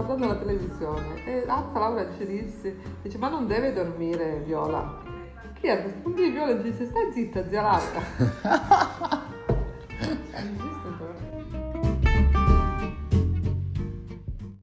guardando la televisione e alza Laura ci dice ma non deve dormire Viola. Chi è? Quindi Viola dice stai zitta zia Laura.